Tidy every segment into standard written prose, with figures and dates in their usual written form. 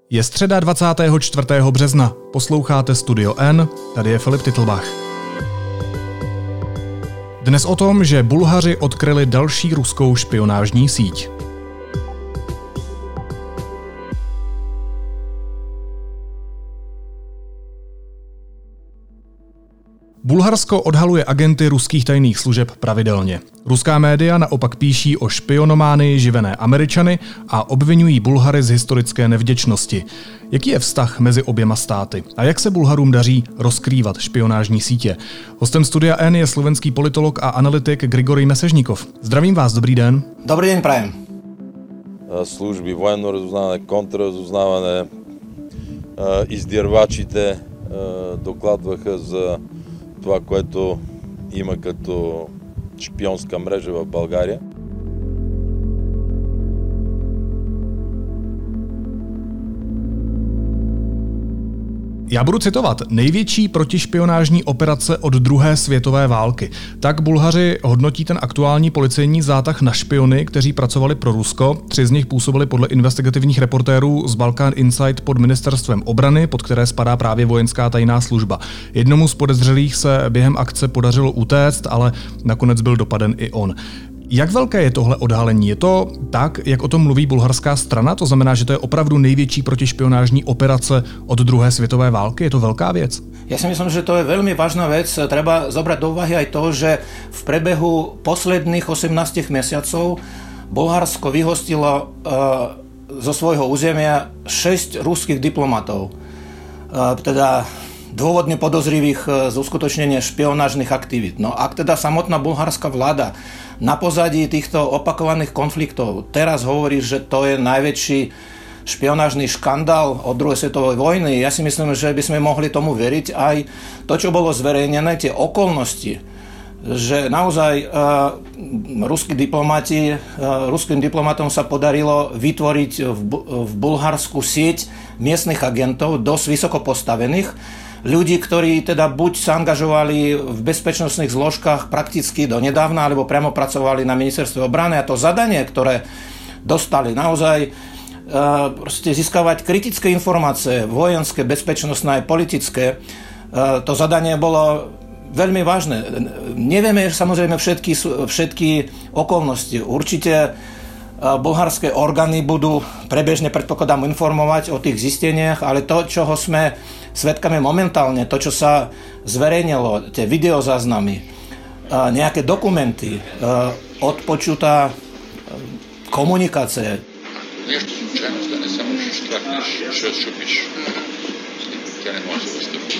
Je středa 24. března. Posloucháte Studio N, tady je Filip Titlbach. Dnes o tom, že Bulhaři odkryli další ruskou špionážní síť. Bulharsko odhaluje agenty ruských tajných služeb pravidelně. Ruská média naopak píší o špionománii živené Američany a obvinují Bulhary z historické nevděčnosti. Jaký je vztah mezi oběma státy a jak se Bulharům daří rozkrývat špionážní sítě? Hostem Studia N je slovenský politolog a analytik Grigorij Mesežníkov. Zdravím vás, dobrý den. Dobrý den, prajem. Služby, военно разузнаване, контрразузнаване, издирвачите докладваха за това, което има като шпионска мрежа в България. Já budu citovat. Největší protišpionážní operace od druhé světové války. Tak Bulhaři hodnotí ten aktuální policejní zátah na špiony, kteří pracovali pro Rusko. 3 z nich působili podle investigativních reportérů z Balkan Insight pod ministerstvem obrany, pod které spadá právě vojenská tajná služba. Jednomu z podezřelých se během akce podařilo utéct, ale nakonec byl dopaden i on. Jak velké je tohle odhalení? Je to tak, jak o tom mluví bulharská strana? To znamená, že to je opravdu největší protišpionážní operace od druhé světové války? Je to velká věc? Ja si myslím, že to je veľmi vážna vec. Treba zobrať do úvahy aj to, že v prebehu posledných 18 mesiacov Bulharsko vyhostilo zo svojho územia 6 ruských diplomatov. Teda dôvodne podozrivých z uskutočnenia špionážnych aktivít. No ak teda samotná bulharská vláda na pozadí týchto opakovaných konfliktov teraz hovorí, že to je najväčší špionážny škandál od druhej svetovej vojny, ja si myslím, že by sme mohli tomu veriť aj to, čo bolo zverejnené, tie okolnosti, že naozaj ruským diplomatom sa podarilo vytvoriť v Bulharsku sieť miestnych agentov, dosť vysoko postavených, ľudí, ktorí teda buď sa angažovali v bezpečnostných zložkách prakticky do nedávna, alebo priamo pracovali na ministerstve obrany a to zadanie, ktoré dostali naozaj proste získavať kritické informácie, vojenské, bezpečnostné aj politické, to zadanie bolo veľmi vážne. Nevieme samozrejme všetky okolnosti. Určite bulharské orgány budú prebežne, predpokladám, informovať o tých zisteniach, ale to, čoho sme svedkami momentálne, to, čo sa zverejnilo, tie videozáznamy, nejaké dokumenty, odpočutá komunikácie. Нещо случайно стане, само ще штракнеш, ще шупиш. Тя не може да възстъпи.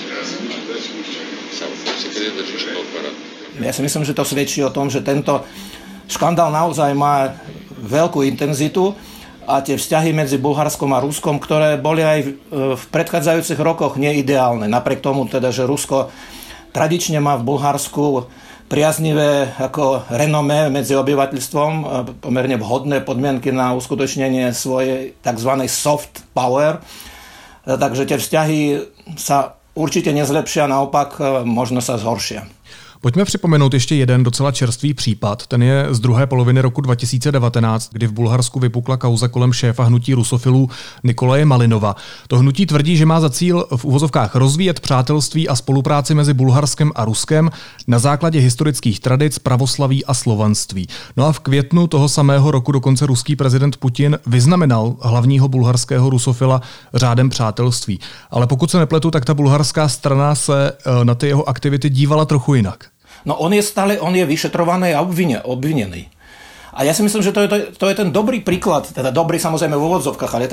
Само си къде държиш на апарат. Ja si myslím, že to svedčí o tom, že tento škandál naozaj má veľkú intenzitu a tie vzťahy medzi Bulharskom a Ruskom, ktoré boli aj v predchádzajúcich rokoch neideálne. Napriek tomu teda, že Rusko tradične má v Bulharsku priaznivé ako renomé medzi obyvateľstvom, pomerne vhodné podmienky na uskutočnenie svojej tzv. Soft power. Takže tie vzťahy sa určite nezlepšia, naopak možno sa zhoršia. Pojďme připomenout ještě jeden docela čerstvý případ. Ten je z druhé poloviny roku 2019, kdy v Bulharsku vypukla kauza kolem šéfa hnutí rusofilů Nikolaje Malinova. To hnutí tvrdí, že má za cíl v uvozovkách rozvíjet přátelství a spolupráci mezi Bulharskem a Ruskem na základě historických tradic, pravoslaví a slovanství. No a v květnu toho samého roku dokonce ruský prezident Putin vyznamenal hlavního bulharského rusofila řádem přátelství. Ale pokud se nepletu, tak ta bulharská strana se na ty jeho aktivity dívala trochu jinak. No on je vyšetrovaný a obvinený. A ja si myslím, že to je ten dobrý príklad, teda dobrý samozrejme v úvodzovkách, ale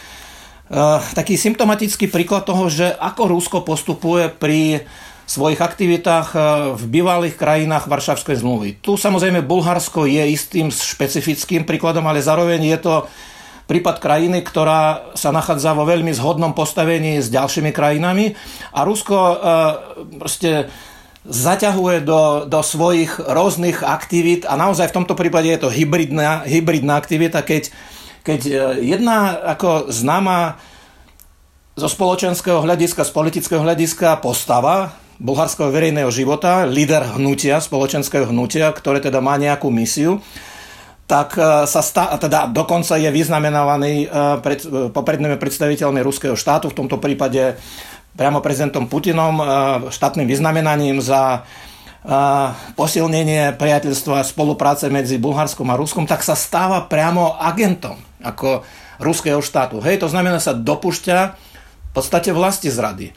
taký symptomatický príklad toho, že ako Rusko postupuje pri svojich aktivitách v bývalých krajinách Varšavskej zmluvy. Tu samozrejme Bulharsko je istým špecifickým príkladom, ale zároveň je to prípad krajiny, ktorá sa nachádza vo veľmi zhodnom postavení s ďalšími krajinami a Rusko proste zaťahuje do svojich rôznych aktivít a naozaj v tomto prípade je to hybridná aktivita, keď jedna ako známa zo spoločenského hľadiska, z politického hľadiska postava bulharského verejného života, líder hnutia, spoločenského hnutia, ktoré teda má nejakú misiu, tak teda dokonca je vyznamenávaný poprednými predstaviteľmi ruského štátu, v tomto prípade priamo prezidentom Putinom, štátnym vyznamenaním za posilnenie priateľstva a spolupráce medzi Bulharskom a Ruskom, tak sa stáva priamo agentom ako ruského štátu. Hej, to znamená, sa dopúšťa v podstate vlasti zrady.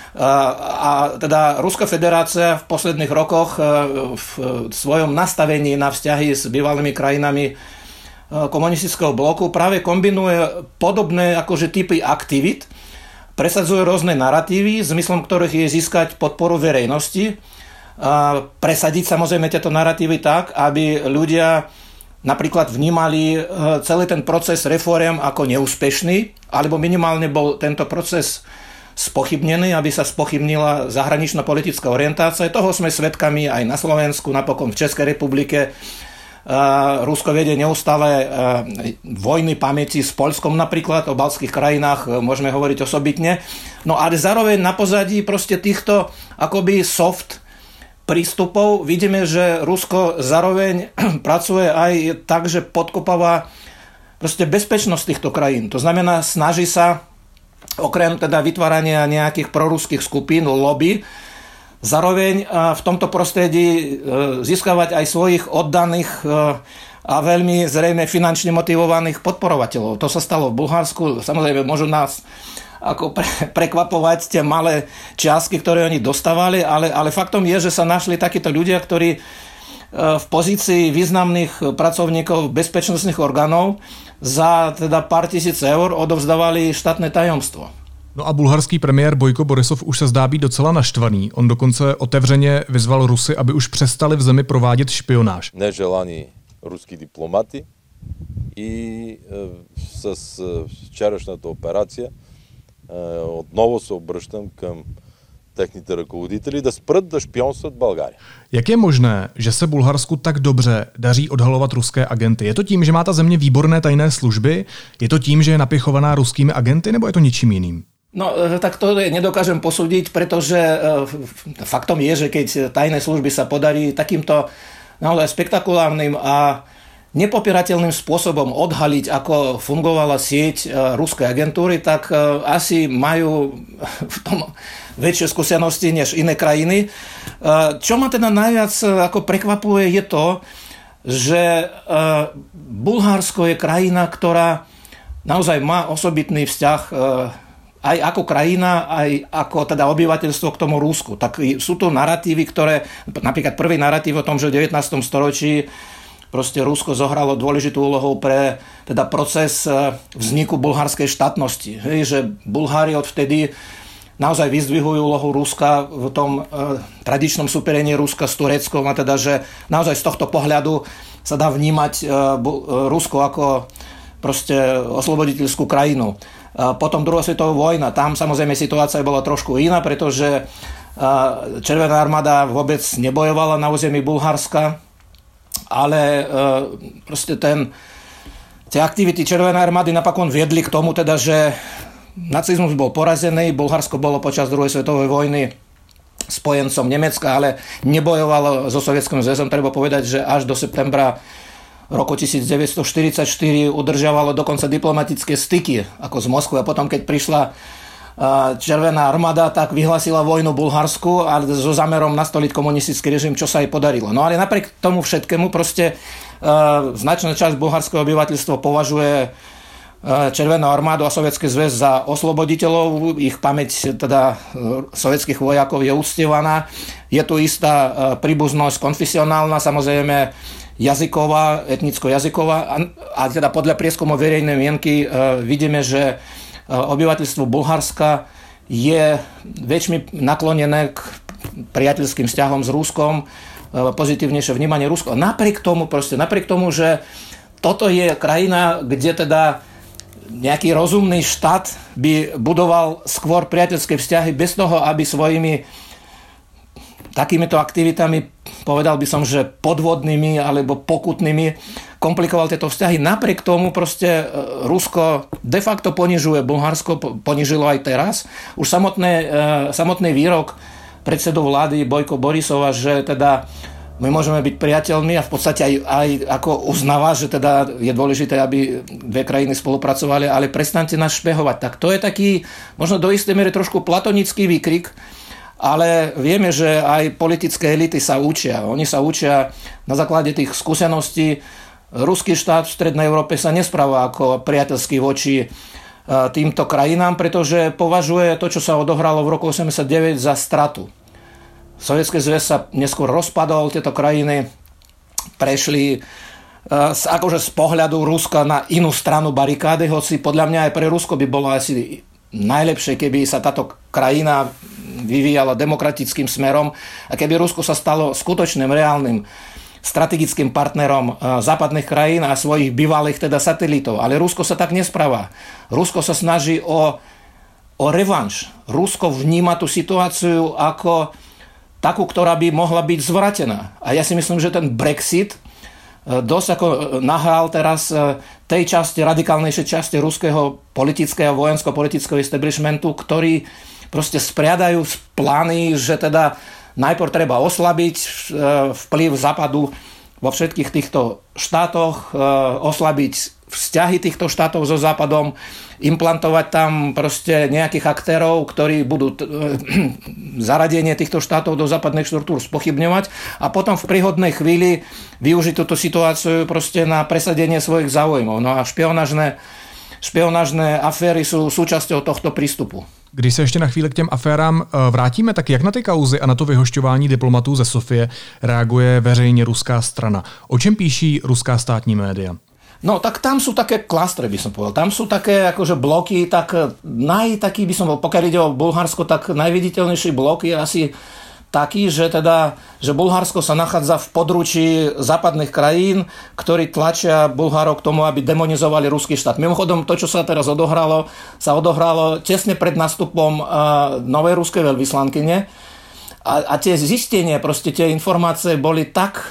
A teda Ruská federácia v posledných rokoch v svojom nastavení na vzťahy s bývalými krajinami komunistického bloku práve kombinuje podobné akože typy aktivít, presadzuje rôzne naratívy, zmyslom ktorých je získať podporu verejnosti, presadiť samozrejme tieto naratívy tak, aby ľudia napríklad vnímali celý ten proces reforiem ako neúspešný, alebo minimálne bol tento proces spochybnený, aby sa spochybnila zahranično-politická orientácia. Toho sme svedkami aj na Slovensku, napokon v Českej republike. Rusko vedie neustále vojny pamäti s Poľskom napríklad, o baltských krajinách môžeme hovoriť osobitne. No ale zároveň na pozadí proste týchto akoby soft prístupov vidíme, že Rusko zároveň pracuje aj tak, že podkopáva proste bezpečnosť týchto krajín. To znamená, snaží sa okrem teda vytvárania nejakých proruských skupín, lobby, zároveň v tomto prostredí získavať aj svojich oddaných a veľmi zrejme finančne motivovaných podporovateľov. To sa stalo v Bulharsku. Samozrejme, môžu nás ako prekvapovať tie malé čiastky, ktoré oni dostávali, ale faktom je, že sa našli takíto ľudia, ktorí v pozícii významných pracovníkov bezpečnostných orgánov za teda pár tisíc eur odovzdávali štátne tajomstvo. No a bulharský premiér Bojko Borisov už se zdá být docela naštvaný. On dokonce otevřeně vyzval Rusy, aby už přestali v zemi provádět špionáž. Нежелани руски дипломати и с вчерашната операция отново се обръщам към техните ръководители да спрат да špionстват България. Jak je možné, že se Bulharsku tak dobře daří odhalovat ruské agenty? Je to tím, že má ta země výborné tajné služby? Je to tím, že je napěchovaná ruskými agenty? Nebo je to ničím jiným? No, tak to nedokážem posúdiť, pretože faktom je, že keď tajné služby sa podarí takýmto naozaj spektakulárnym a nepopierateľným spôsobom odhaliť, ako fungovala sieť ruskej agentúry, tak asi majú v tom väčšie skúsenosti než iné krajiny. Čo ma teda najviac ako prekvapuje je to, že Bulharsko je krajina, ktorá naozaj má osobitný vzťah aj ako krajina, aj ako teda obyvateľstvo k tomu Rusku. Tak sú to naratívy, ktoré, napríklad prvý naratív o tom, že v 19. storočí proste Rusko zohralo dôležitú úlohu pre teda proces vzniku bulharskej štátnosti. Hej, že Bulhári odvtedy naozaj vyzdvihujú úlohu Ruska v tom tradičnom superení Ruska s Tureckom, a teda, že naozaj z tohto pohľadu sa dá vnímať Rusko ako proste osloboditeľskú krajinu. Potom druhá svetová vojna, tam samozrejme situácia bola trošku iná, pretože Červená armáda vôbec nebojovala na území Bulharska, ale proste tie aktivity Červenej armády napokon viedli k tomu, teda, že nacizmus bol porazený, Bulharsko bolo počas druhej svetovej vojny spojencom Nemecka, ale nebojovalo so Sovietským zväzom. Treba povedať, že až do septembra roku 1944 udržiavalo dokonca diplomatické styky ako z Moskvy, a potom keď prišla Červená armáda, tak vyhlásila vojnu Bulharsku a so zámerom nastoliť komunistický režim, čo sa jej podarilo. No ale napriek tomu všetkému proste značná časť bulharského obyvateľstva považuje Červenú armádu a Sovietský zväz za osloboditeľov. Ich pamäť teda sovietských vojakov je uctievaná. Je tu istá príbuznosť konfesionálna, samozrejme jazyková, etnicko-jazyková, a teda podľa prieskumov verejnej mienky vidíme, že obyvateľstvo Bulharska je väčšmi naklonené k priateľským vzťahom s Ruskom, pozitívnejšie vnímanie Rusko. Napriek tomu, že toto je krajina, kde teda nejaký rozumný štát by budoval skôr priateľské vzťahy bez toho, aby svojimi takýmito aktivitami, povedal by som, že podvodnými alebo pokutnými, komplikoval tieto vzťahy. Napriek tomu proste Rusko de facto ponižuje Bulharsko, ponižilo aj teraz. Už samotný výrok predsedu vlády Bojko Borisova, že teda my môžeme byť priateľmi a v podstate aj ako uznáva, že teda je dôležité, aby dve krajiny spolupracovali, ale prestaňte nás špehovať. Tak to je taký, možno do istej miery trošku platonický výkrik, ale vieme, že aj politické elity sa učia. Oni sa učia na základe tých skúseností. Ruský štát v Strednej Európe sa nespráva ako priateľský voči týmto krajinám, pretože považuje to, čo sa odohralo v roku 1989 za stratu. Sovietský zväz sa neskôr rozpadol, tieto krajiny prešli akože z pohľadu Ruska na inú stranu barikády, hoci podľa mňa aj pre Rusko by bolo asi najlepšie, keby sa táto krajina vyvíjala demokratickým smerom a keby Rusko sa stalo skutočným, reálnym strategickým partnerom západných krajín a svojich bývalých teda satelitov. Ale Rusko sa tak nespráva. Rusko sa snaží o revanš. Rusko vníma tú situáciu ako takú, ktorá by mohla byť zvratená. A ja si myslím, že ten Brexit dosť ako nahral teraz tej časti, radikálnejšej časti ruského politického, vojensko-politického establishmentu, ktorí proste spriadajú plány, že teda najprv treba oslabiť vplyv Západu vo všetkých týchto štátoch, oslabiť vzťahy týchto štátov so Západom, implantovať tam proste nejakých aktérov, ktorí budú zaradenie týchto štátov do západných štruktúr spochybňovať a potom v príhodnej chvíli využiť túto situáciu proste na presadenie svojich záujmov. No a špionážné aféry sú súčasťou tohto prístupu. Když se ještě na chvíli k těm aférám vrátíme, tak jak na ty kauzy a na to vyhošťování diplomatů ze Sofie reaguje veřejně ruská strana? O čem píší ruská státní média? No tak tam sú také klastre, by som povedal. Tam sú také akože bloky, tak taký by som bol, pokiaľ ide o Bulharsko, tak najviditeľnejší blok je asi taký, že Bulharsko sa nachádza v područí západných krajín, ktorí tlačia Bulharov k tomu, aby demonizovali ruský štát. Mimochodom, to, čo sa teraz odohralo, sa odohralo tesne pred nástupom novej ruskej veľvyslankyne a tie zistenie, proste tie informácie boli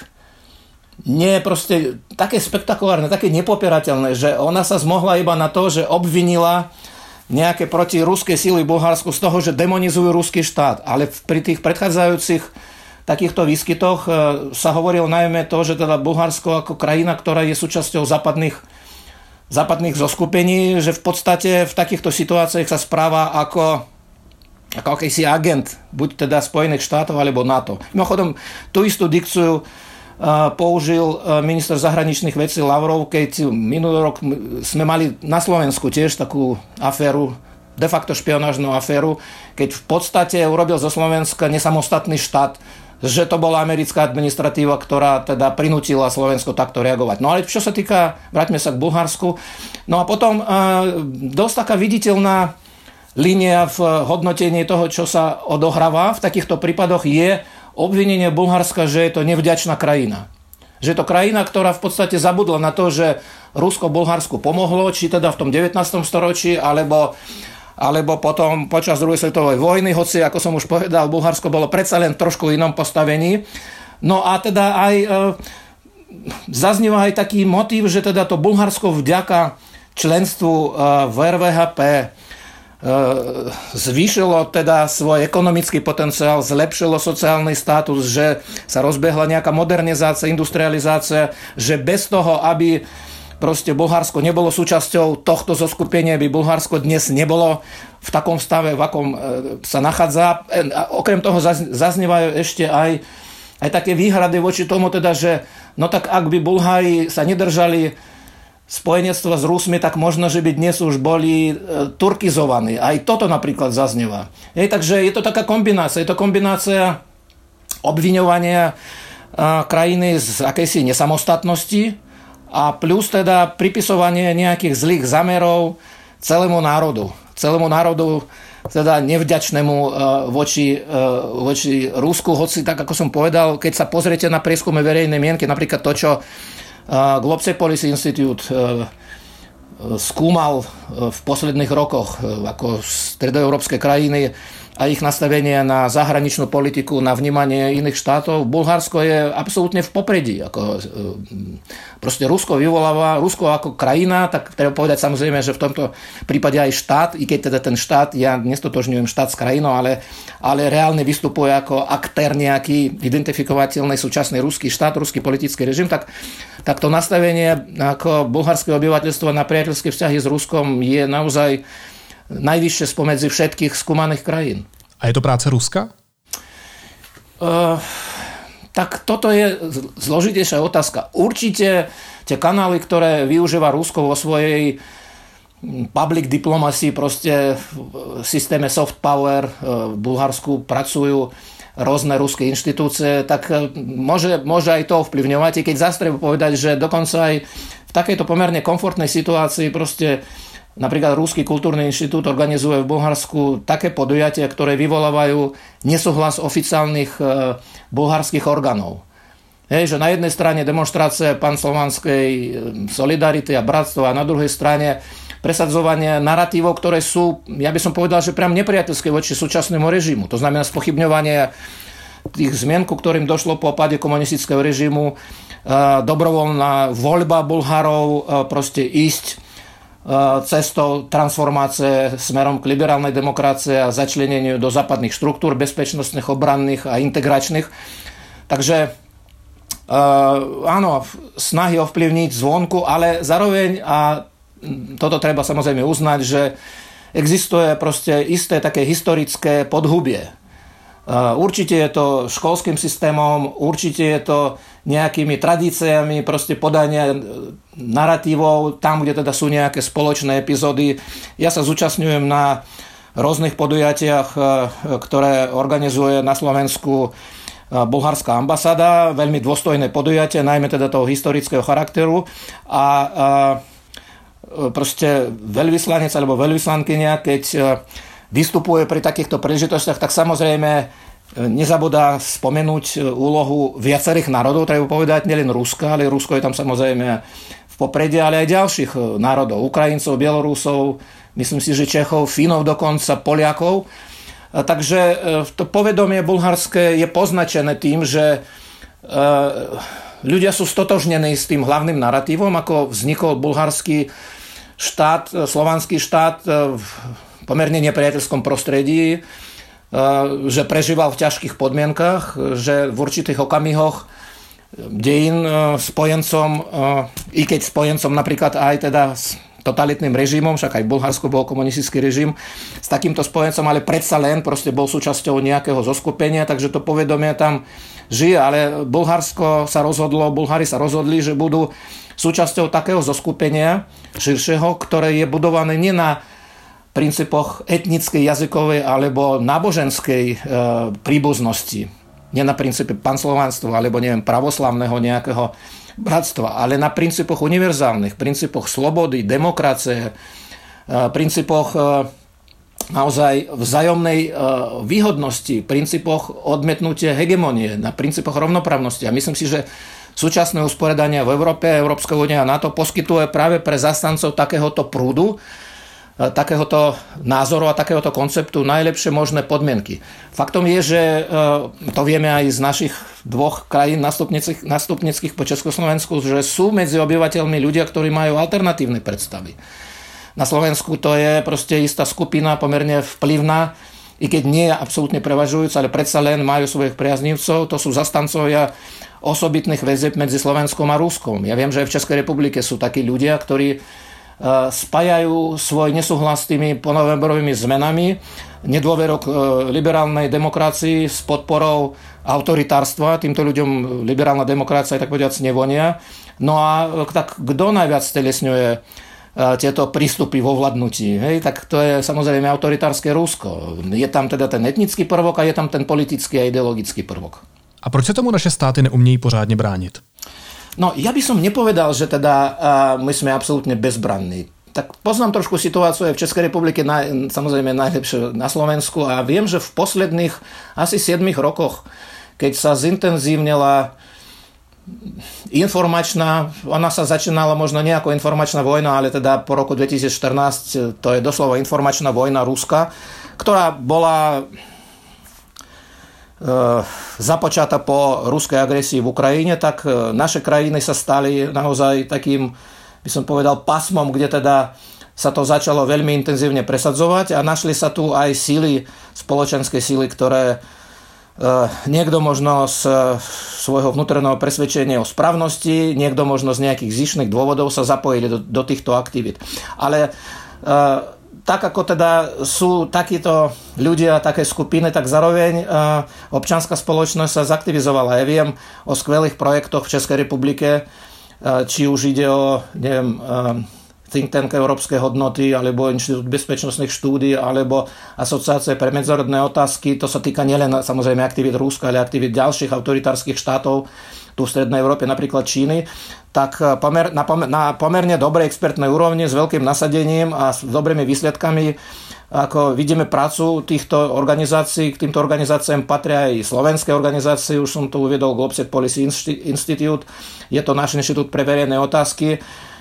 také spektakulárne, také nepopierateľné, že ona sa zmohla iba na to, že obvinila nejaké protiruské síly v Bulharsku z toho, že demonizujú ruský štát. Ale pri tých predchádzajúcich takýchto výskytoch sa hovorilo najmä to, že teda Bulharsko ako krajina, ktorá je súčasťou západných zoskupení, že v podstate v takýchto situáciách sa správa ako akýsi agent, buď teda Spojených štátov alebo NATO. Mimochodom, tú istú dikciu použil minister zahraničných vecí Lavrov, keď minulý rok sme mali na Slovensku tiež takú aféru, de facto špionážnu aféru, keď v podstate urobil zo Slovenska nesamostatný štát, že to bola americká administratíva, ktorá teda prinútila Slovensko takto reagovať. No ale čo sa týka, vráťme sa k Bulharsku, no a potom dosť taká viditeľná línia v hodnotení toho, čo sa odohráva v takýchto prípadoch je obvinenie Bulharska, že je to nevďačná krajina. Že je to krajina, ktorá v podstate zabudla na to, že Rusko Bulharsku pomohlo, či teda v tom 19. storočí, alebo potom počas druhej svetovej vojny, hoci, ako som už povedal, Bulharsko bolo predsa len trošku inom postavení. No a teda aj zaznieva aj taký motív, že teda to Bulharsko vďaka členstvu v RVHP zvýšilo teda svoj ekonomický potenciál, zlepšilo sociálny status, že sa rozbehla nejaká modernizácia, industrializácia, že bez toho, aby proste Bulharsko nebolo súčasťou tohto zoskupenia, by Bulharsko dnes nebolo v takom stave, v akom sa nachádza. A okrem toho zaznievajú ešte aj také výhrady voči tomu, teda, že no tak ak by Bulhári sa nedržali spojenectva s Rusmi, tak možno, že by dnes už boli turkizovaní. Aj toto napríklad zaznieva. Takže je to taká kombinácia. Je to kombinácia obviňovania krajiny z akejsi nesamostatnosti a plus teda pripisovanie nejakých zlých zamerov celému národu. Celému národu teda nevďačnému voči Rusku. Hoci, tak ako som povedal, keď sa pozriete na prieskumy verejnej mienky, napríklad to, čo Globsec Policy Institute skúmal v posledných rokoch ako stredoeurópske krajiny, a ich nastavenie na zahraničnú politiku, na vnímanie iných štátov. Bulharsko je absolútne v popredí. Proste Rusko vyvoláva, Rusko ako krajina, tak treba povedať samozrejme, že v tomto prípade aj štát, i keď teda ten štát, ja nestotožňujem štát s krajinou, ale reálne vystupuje ako aktér nejaký identifikovateľný súčasný ruský štát, ruský politický režim, tak to nastavenie ako bulharského obyvateľstva na priateľské vzťahy s Ruskom je naozaj najvyššie spomedzi všetkých skúmaných krajín. A je to práce Ruska? Tak toto je zložitejšia otázka. Určite tie kanály, ktoré využíva Rusko vo svojej public diplomacy, proste v systéme soft power v Bulharsku pracujú rôzne ruské inštitúcie, tak môže aj to ovplyvňovať. I keď zase treba povedať, že dokonca aj v takejto pomerne komfortnej situácii proste napríklad Ruský kultúrny inštitút organizuje v Bulharsku také podujatia, ktoré vyvolávajú nesúhlas oficiálnych bulharských orgánov. Že na jednej strane demonštrácie panslovanskej solidarity a bratstva a na druhej strane presadzovanie naratívov, ktoré sú, ja by som povedal, že priam nepriateľské voči súčasnému režimu. To znamená spochybňovanie tých zmien, ku ktorým došlo po páde komunistického režimu, dobrovoľná voľba Bulharov, proste ísť cestou transformácie smerom k liberálnej demokracii a začleneniu do západných štruktúr bezpečnostných, obranných a integračných. Takže áno, snahy ovplyvniť zvonku, ale zároveň, a toto treba samozrejme uznať, že existuje proste isté také historické podhubie. Určite je to školským systémom, určite je to nejakými tradíciami proste podania naratívov, tam, kde teda sú nejaké spoločné epizódy. Ja sa zúčastňujem na rôznych podujatiach, ktoré organizuje na Slovensku bulharská ambasáda, veľmi dôstojné podujatie, najmä teda toho historického charakteru, a proste veľvyslanec alebo veľvyslankyňa, keď vystupuje pri takýchto príležitostiach, tak samozrejme nezabudá spomenúť úlohu viacerých národov, treba povedať, nielen Ruska, ale Rusko je tam samozrejme v popredí, ale aj ďalších národov, Ukrajincov, Bielorusov, myslím si, že Čechov, Fínov dokonca, Poliakov. Takže to povedomie bulharské je poznačené tým, že ľudia sú stotožnení s tým hlavným naratívom, ako vznikol bulharský štát, slovanský štát v pomerne nepriateľskom prostredí, že prežíval v ťažkých podmienkach, že v určitých okamihoch dejín spojencom, i keď spojencom napríklad aj teda s totalitným režimom, však aj v Bulharsku bol komunistický režim, s takýmto spojencom, ale predsa len proste bol súčasťou nejakého zoskupenia, takže to povedomie tam žije, ale Bulhári sa rozhodli, že budú súčasťou takého zoskupenia širšieho, ktoré je budované nie na princípoch etnickej, jazykovej alebo náboženskej príbuznosti. Nie na princípe panslovanstva alebo neviem, pravoslavného nejakého bratstva, ale na princípoch univerzálnych, princípoch slobody, demokracie, princípoch naozaj vzájomnej výhodnosti, princípoch odmietnutia hegemonie, na princípoch rovnoprávnosti. A myslím si, že súčasné usporiadanie v Európe, Európska únia a NATO poskytuje práve pre zastancov takéhoto prúdu, takéhoto názoru a takéhoto konceptu najlepšie možné podmienky. Faktom je, že to vieme aj z našich dvoch krajín nástupnických po Československu, že sú medzi obyvateľmi ľudia, ktorí majú alternatívne predstavy. Na Slovensku to je proste istá skupina pomerne vplyvná, i keď nie je absolútne prevažujúca, ale predsa len majú svojich priaznivcov, to sú zastancovia osobitných väzieb medzi Slovenskom a Ruskom. Ja viem, že aj v Českej republike sú takí ľudia, ktorí spájajú svoj nesúhlas s tými ponovemberovými zmenami, nedôverok liberálnej demokracii s podporou autoritárstva. Týmto ľuďom liberálna demokracia tak povedať nevonia. No a tak kto najviac stelesňuje tieto prístupy vo vládnutí? Tak to je samozrejme autoritárske Rusko. Je tam teda ten etnický prvok a je tam ten politický a ideologický prvok. A proč se tomu naše státy neumějí pořádně bránit? No, ja by som nepovedal, že teda my sme absolútne bezbranní. Tak poznám trošku situáciu aj v Českej republike, samozrejme najlepšie na Slovensku, a viem, že v posledných asi 7 rokoch, keď sa zintenzívnila informačná, ona sa začínala možno nie ako informačná vojna, ale teda po roku 2014 to je doslova informačná vojna Ruska, ktorá bola započata po ruskej agresii v Ukrajine, tak naše krajiny sa stali naozaj takým, by som povedal, pasmom, kde teda sa to začalo veľmi intenzívne presadzovať a našli sa tu aj síly, spoločenské síly, ktoré niekto možno z svojho vnútorného presvedčenia o správnosti, niekto možno z nejakých zišných dôvodov sa zapojili do týchto aktivít. Ale tak ako teda sú takíto ľudia, také skupiny, tak zároveň občianská spoločnosť sa zaktivizovala. Ja viem o skvelých projektoch v Českej republike, či už ide o, neviem, Think Tank Európske hodnoty, alebo Inštitút bezpečnostných štúdií, alebo Asociácie pre medzinárodné otázky. To sa týka nielen samozrejme aktivít Ruska, ale aktivít ďalších autoritárskych štátov tu v Strednej Európe, napríklad Číny, tak na pomerne dobrej expertnej úrovni s veľkým nasadením a s dobrými výsledkami, ako vidíme prácu týchto organizácií, k týmto organizáciám patria aj slovenské organizácie, už som tu uviedol Globsec Policy Institute, je to náš inštitút pre verejné otázky.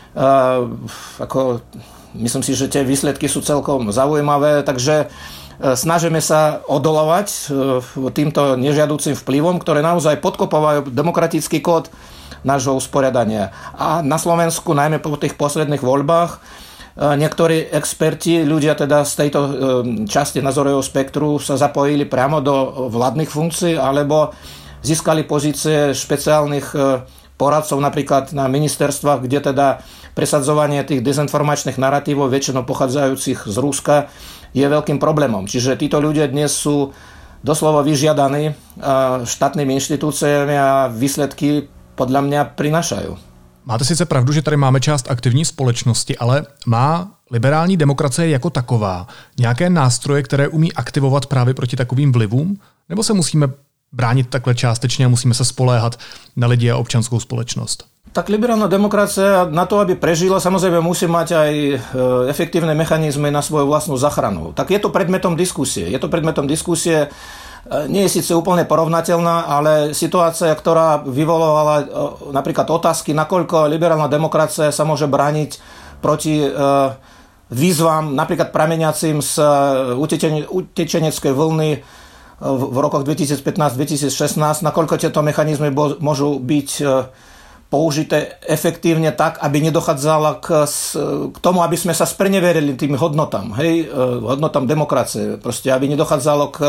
Myslím si, že tie výsledky sú celkom zaujímavé, takže snažíme sa odolovať týmto nežiaducím vplyvom, ktoré naozaj podkopovajú demokratický kód nášho usporiadania. A na Slovensku, najmä po tých posledných voľbách, niektorí experti, ľudia teda z tejto časti názorového spektru sa zapojili priamo do vládnych funkcií alebo získali pozície špeciálnych poradcov napríklad na ministerstvách, kde teda presadzovanie tých dezinformačných naratívov, väčšinou pochádzajúcich z Ruska, je veľkým problémom. Čiže títo ľudia dnes sú doslova vyžiadaní štátnymi inštitúciami a výsledky podľa mňa prinášajú. Máte sice pravdu, že tady máme část aktivní společnosti, ale má liberální demokracie jako taková nějaké nástroje, které umí aktivovat právě proti takovým vlivům? Nebo se musíme bránit takhle částečně a musíme se spoléhat na lidi a občanskou společnost? Tak liberálna demokracia na to, aby prežila, samozrejme musí mať aj efektívne mechanizmy na svoju vlastnú zachranu. Tak je to predmetom diskusie. Nie je síce úplne porovnateľná, ale situácia, ktorá vyvolovala napríklad otázky, nakoľko liberálna demokracia sa môže brániť proti výzvam, napríklad prameniacim z utečeneckej vlny v rokoch 2015-2016, nakoľko tieto mechanizmy môžu byť použité efektívne tak, aby nedochádzalo k tomu, aby sme sa spreneverili tým hodnotám, hodnotám demokracie. Proste, aby nedochádzalo k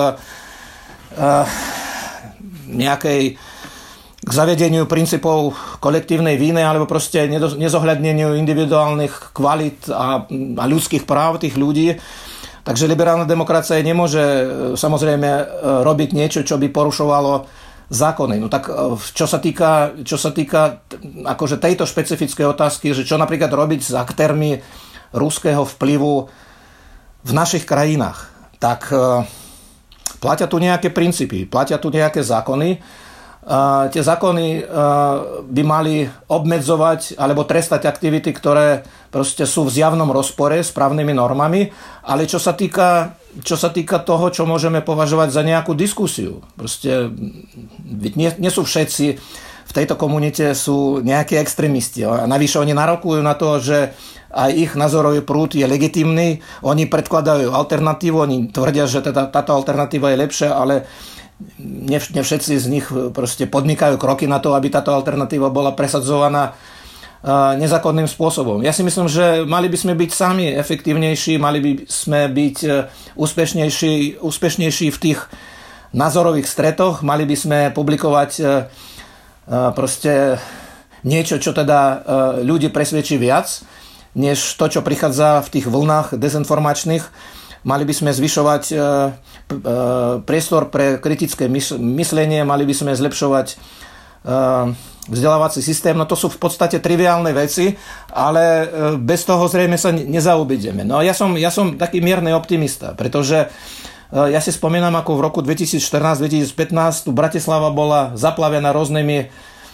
k zavedeniu princípov kolektívnej viny alebo proste nezohľadneniu individuálnych kvalít a ľudských práv tých ľudí. Takže liberálna demokracia nemôže samozrejme robiť niečo, čo by porušovalo zákony. No tak čo sa týka akože tejto špecifickej otázky, že čo napríklad robiť s aktérmi ruského vplyvu v našich krajinách, tak platia tu nejaké princípy, platia tu nejaké zákony. Tie zákony by mali obmedzovať alebo trestať aktivity, ktoré proste sú v zjavnom rozpore s právnymi normami, ale čo sa týka toho, čo môžeme považovať za nejakú diskusiu. Proste nie sú všetci v tejto komunite sú nejakí extrémisti. A navyše oni narokujú na to, že aj ich názorový prúd je legitímny, oni predkladajú alternatívu, oni tvrdia, že táto alternatíva je lepšia, ale ne všetci z nich proste podnikajú kroky na to, aby táto alternatíva bola presadzovaná nezákonným spôsobom. Ja si myslím, že mali by sme byť sami efektívnejší, mali by sme byť úspešnejší v tých názorových stretoch, mali by sme publikovať proste niečo, čo teda ľudí presvedčí viac, než to, čo prichádza v tých vlnách dezinformačných. Mali by sme zvyšovať priestor pre kritické myslenie, mali by sme zlepšovať vzdelávací systém. No to sú v podstate triviálne veci, ale bez toho zrejme sa nezaobídeme. No ja som taký mierny optimista, pretože ja si spomínam, ako v roku 2014-2015 tu Bratislava bola zaplavená rôznymi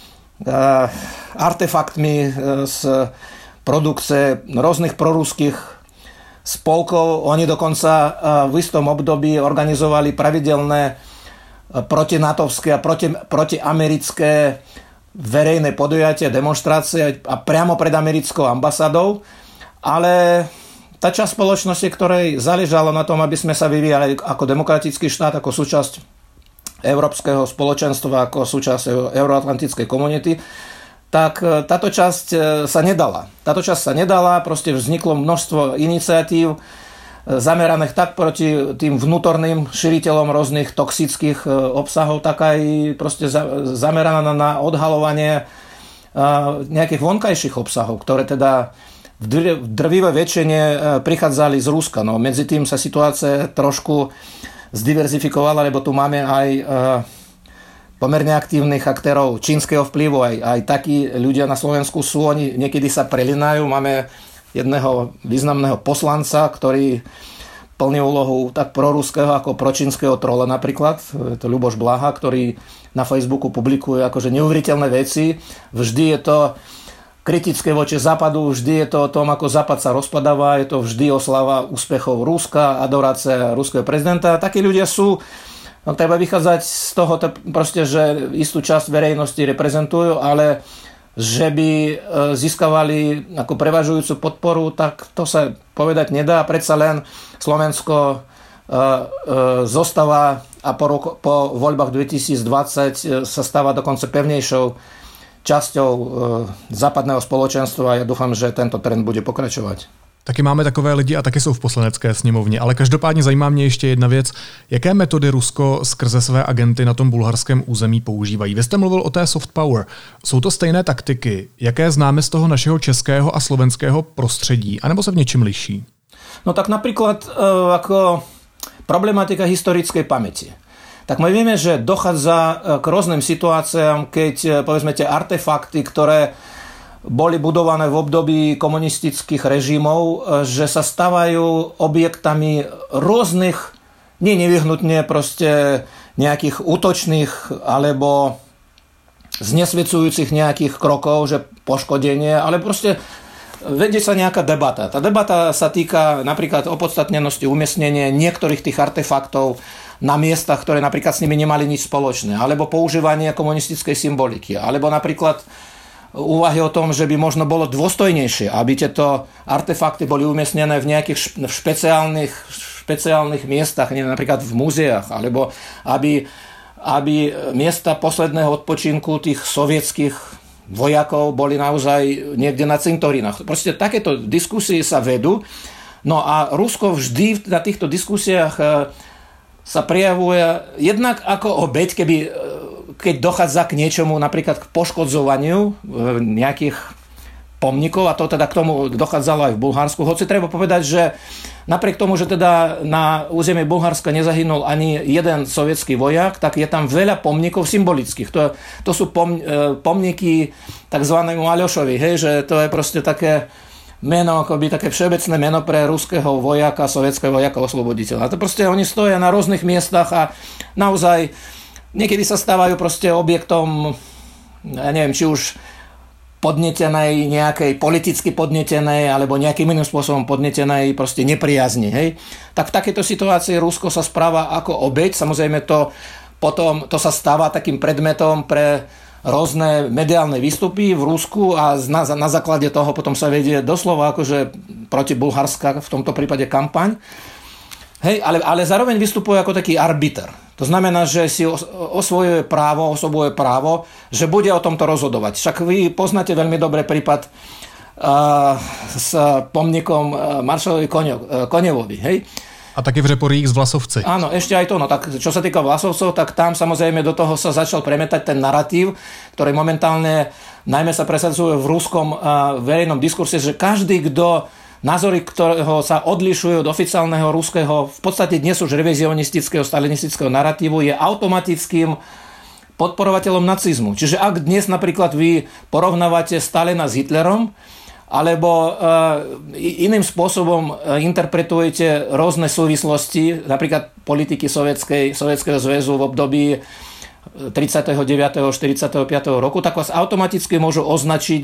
artefaktmi z produkcie rôznych proruských spolkov. Oni dokonca v istom období organizovali pravidelné protinatovské a protiamerické verejné podujatie, demonštrácie a priamo pred americkou ambasádou, ale tá časť spoločnosti, ktorej záležalo na tom, aby sme sa vyvíjali ako demokratický štát, ako súčasť európskeho spoločenstva, ako súčasť euroatlantickej komunity, tak táto časť sa nedala. Proste vzniklo množstvo iniciatív zameraných tak proti tým vnútorným šíriteľom rôznych toxických obsahov, tak aj proste zameraná na odhalovanie nejakých vonkajších obsahov, ktoré teda v drvivej väčšine prichádzali z Ruska. No, medzi tým sa situácia trošku zdiverzifikovala, lebo tu máme aj pomerne aktívnych aktérov čínskeho vplyvu. Aj takí ľudia na Slovensku sú, oni niekedy sa prelinajú. Máme jedného významného poslanca, ktorý plní úlohu tak proruského ako pročínskeho trola napríklad. Je to Ľuboš Blaha, ktorý na Facebooku publikuje akože neuveriteľné veci. Vždy je to kritické voči Západu, vždy je to o tom, ako Západ sa rozpadáva, je to vždy oslava úspechov Ruska, adorácia ruského prezidenta. Takí ľudia sú, no, treba vychádzať z toho, proste, že istú časť verejnosti reprezentujú, ale že by získavali ako prevažujúcu podporu, tak to sa povedať nedá. Predsa len Slovensko zostáva a po voľbách 2020 sa stáva dokonca pevnejšou časťou západného společenstva a ja dúfam, že tento trend bude pokračovat. Taky máme takové lidi a taky jsou v poslanecké sněmovně, ale každopádně zajímá mě ještě jedna věc. Jaké metody Rusko skrze své agenty na tom bulharském území používají? Vy jste mluvil o té soft power. Jsou to stejné taktiky, jaké známe z toho našeho českého a slovenského prostředí, anebo se v něčem liší? No tak napríklad ako problematika historickej pamäti. Tak my vieme, že dochádza k rôznym situáciám, keď povedzme tie artefakty, ktoré boli budované v období komunistických režimov, že sa stávajú objektami rôznych, nie nevyhnutne proste nejakých útočných alebo znesvedcujúcich nejakých krokov, že poškodenie, ale proste vedie sa nejaká debata. Tá debata sa týka napríklad opodstatnenosti umiestnenia niektorých tých artefaktov na miestach, ktoré napríklad s nimi nemali nič spoločné, alebo používanie komunistickej symboliky, alebo napríklad úvahy o tom, že by možno bolo dôstojnejšie, aby tieto artefakty boli umiestnené v nejakých špeciálnych miestach, napríklad v múzeách, alebo aby miesta posledného odpočinku tých sovietských vojakov boli naozaj niekde na cintorínach. Proste takéto diskusie sa vedú. No a Rusko vždy na týchto diskusiách sa prejavuje jednak ako obeť, keď dochádza k niečomu, napríklad k poškodzovaniu nejakých pomníkov, a to teda k tomu dochádzalo aj v Bulharsku. Hoci treba povedať, že napriek tomu, že teda na území Bulharska nezahynul ani jeden sovietský vojak, tak je tam veľa pomníkov symbolických. To sú pomníky takzvanému Aljošovi, hej, že to je proste také meno, akoby také všeobecné meno pre ruského vojaka, sovietského vojaka, osloboditeľa. A to proste oni stoja na rôznych miestach a naozaj niekedy sa stávajú proste objektom, ja neviem, či už podnetenej, nejakej politicky podnetenej alebo nejakým iným spôsobom podnetenej proste nepriazni. Hej? Tak v takejto situácii Rusko sa správa ako obeť. Samozrejme potom to sa stáva takým predmetom pre rôzne mediálne výstupy v Rusku a na základe toho potom sa vedie doslova akože proti Bulharska, v tomto prípade kampaň. Hej, ale zároveň vystupuje ako taký arbiter. To znamená, že si osobuje právo, že bude o tomto rozhodovať. Však vy poznáte veľmi dobre prípad s pomníkom maršalovi Konevovi, hej? A taky v Řeporích z Vlasovci. Áno, ešte aj to. No tak čo sa týka Vlasovcov, tak tam samozrejme do toho sa začal premietať ten narratív, ktorý momentálne najmä sa presadzuje v ruskom verejnom diskurse, že každý, kto názory, ktorého sa odlišujú od oficiálneho ruského, v podstate dnes už revizionistického, stalinistického narratívu, je automatickým podporovateľom nacizmu. Čiže ak dnes napríklad vy porovnávate Stalina s Hitlerom, alebo iným spôsobom interpretujete rôzne súvislosti, napríklad politiky Sovietskeho zväzu v období 39. 45. roku, tak vás automaticky môžu označiť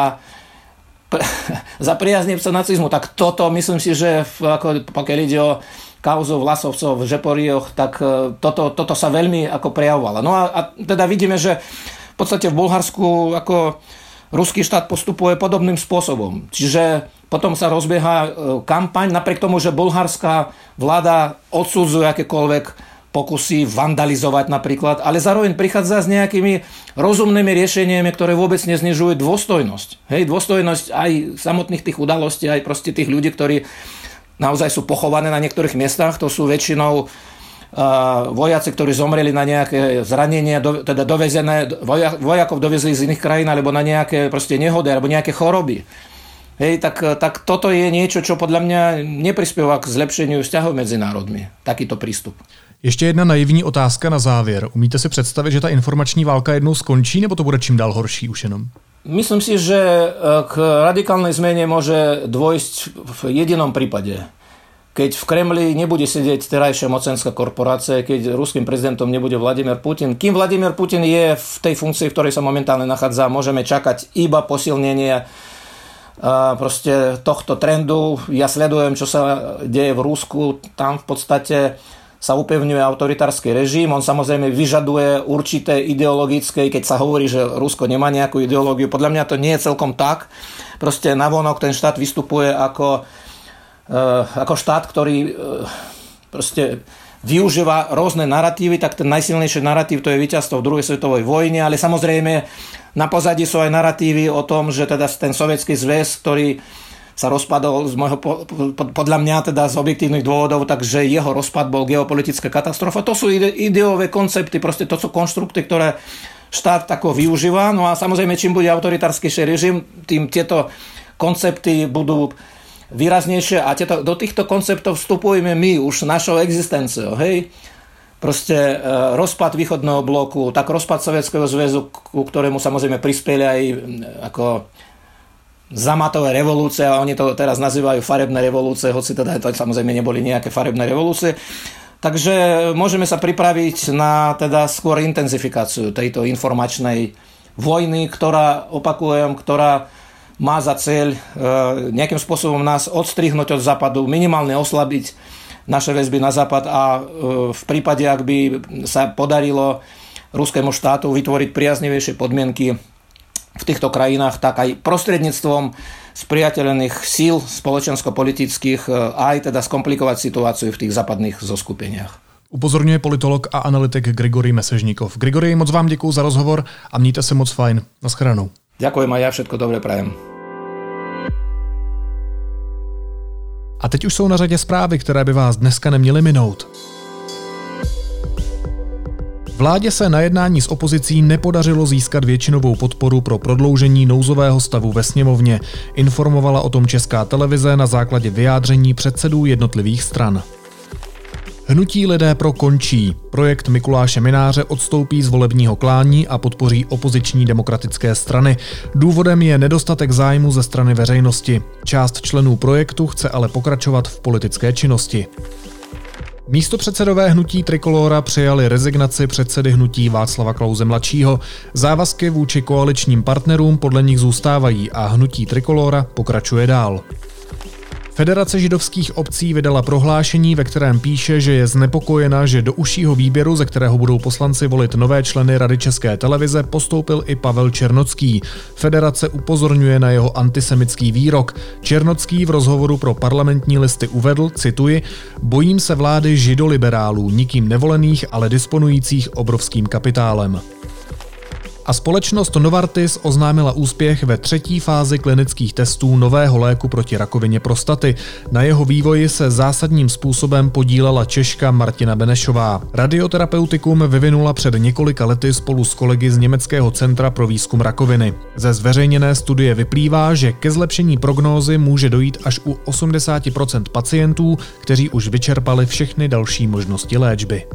za priaznivca nacizmu. Tak toto, myslím si, že pokiaľ ide o kauzu Vlasovcov v Žeporioch, tak toto sa veľmi ako prejavovalo. No a teda vidíme, že v podstate v Bulharsku ako ruský štát postupuje podobným spôsobom. Čiže potom sa rozbieha kampaň, napriek tomu, že bulharská vláda odsudzuje akékoľvek pokusy vandalizovať napríklad, ale zároveň prichádza s nejakými rozumnými riešeniami, ktoré vôbec neznižujú dôstojnosť. Hej, dôstojnosť aj samotných tých udalostí, aj proste tých ľudí, ktorí naozaj sú pochované na niektorých miestach. To sú väčšinou vojaci, ktorí zomreli na nejaké zranenia, teda dovezené, vojakov dovezli z iných krajín, alebo na nejaké proste nehody, alebo nejaké choroby. Hej, tak toto je niečo, čo podľa mňa neprispieva k zlepšeniu vzťahov medzi národmi. Takýto prístup. Ještě jedna naivní otázka na závěr. Umíte si představit, že ta informační válka jednou skončí, nebo to bude čím dál horší už jenom? Myslím si, že k radikálnej zmene môže dôjsť v jedinom prípade. Keď v Kremli nebude sedieť terajšia mocenská korporácia, keď ruským prezidentom nebude Vladimír Putin. Kým Vladimír Putin je v tej funkcii, v ktorej sa momentálne nachádza, môžeme čakať iba posilnenie proste tohto trendu. Ja sledujem, čo sa deje v Rusku. Tam v podstate sa upevňuje autoritársky režim. On samozrejme vyžaduje určité ideologické, keď sa hovorí, že Rusko nemá nejakú ideológiu. Podľa mňa to nie je celkom tak. Proste navonok ten štát vystupuje ako štát, ktorý proste využíva rôzne naratívy, tak ten najsilnejší naratív to je víťazstvo v druhej svetovej vojne, ale samozrejme na pozadí sú aj naratívy o tom, že teda ten sovietský zväz, ktorý sa rozpadol podľa mňa teda z objektívnych dôvodov, takže jeho rozpad bol geopolitická katastrofa. To sú ideové koncepty, proste to sú konštrukty, ktoré štát tako využíva. No a samozrejme, čím bude autoritárskejší režim, tým tieto koncepty budú výraznejšie a do týchto konceptov vstupujeme my už našou existenciou. Hej? Proste rozpad východného bloku, tak rozpad Sovietskeho zväzu, ku ktorému samozrejme prispeli aj ako zamatové revolúcie, a oni to teraz nazývajú farebné revolúcie, hoci teda to samozrejme neboli nejaké farebné revolúcie. Takže môžeme sa pripraviť na teda skôr intenzifikáciu tejto informačnej vojny, ktorá má za cieľ nejakým spôsobom nás odstrihnúť od západu, minimálne oslabiť naše väzby na západ a v prípade, ak by sa podarilo ruskému štátu vytvoriť priaznivejšie podmienky v týchto krajinách, tak aj prostredníctvom spriateľených síl spoločensko-politických aj teda skomplikovať situáciu v tých západných zoskupeniach. Upozorňuje politolog a analytik Grigorij Mesežníkov. Grigorij, moc vám děkuju za rozhovor a mějte se moc fajn. Naschledanou. Ďakujem a ja všetko dobre prajem. A teď už jsou na řadě zprávy, které by vás dneska neměly minout. Vládě se na jednání s opozicí nepodařilo získat většinovou podporu pro prodloužení nouzového stavu ve sněmovně, informovala o tom Česká televize na základě vyjádření předsedů jednotlivých stran. Hnutí Lidé pro končí. Projekt Mikuláše Mynáře odstoupí z volebního klání a podpoří opoziční demokratické strany. Důvodem je nedostatek zájmu ze strany veřejnosti. Část členů projektu chce ale pokračovat v politické činnosti. Místopředsedové hnutí Trikolóra přijali rezignaci předsedy hnutí Václava Klause mladšího. Závazky vůči koaličním partnerům podle nich zůstávají a hnutí Trikolóra pokračuje dál. Federace židovských obcí vydala prohlášení, ve kterém píše, že je znepokojena, že do užšího výběru, ze kterého budou poslanci volit nové členy Rady České televize, postoupil i Pavel Černocký. Federace upozorňuje na jeho antisemický výrok. Černocký v rozhovoru pro Parlamentní listy uvedl, cituji, bojím se vlády židoliberálů, nikým nevolených, ale disponujících obrovským kapitálem. A společnost Novartis oznámila úspěch ve 3. fázi klinických testů nového léku proti rakovině prostaty. Na jeho vývoji se zásadním způsobem podílela Češka Martina Benešová. Radioterapeutikum vyvinula před několika lety spolu s kolegy z Německého centra pro výzkum rakoviny. Ze zveřejněné studie vyplývá, že ke zlepšení prognózy může dojít až u 80% pacientů, kteří už vyčerpali všechny další možnosti léčby.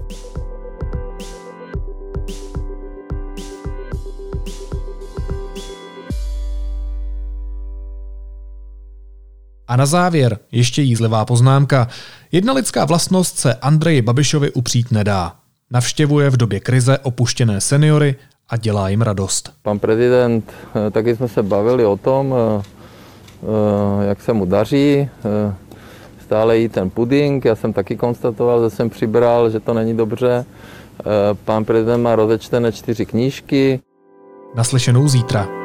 A na závěr ještě jízlivá poznámka. Jedna lidská vlastnost se Andreji Babišovi upřít nedá. Navštěvuje v době krize opuštěné seniory a dělá jim radost. Pan prezident, taky jsme se bavili o tom, jak se mu daří. Stále jí ten puding. Já jsem taky konstatoval, že jsem přibral, že to není dobře. Pán prezident má rozečtené 4 knížky. Naslyšenou zítra.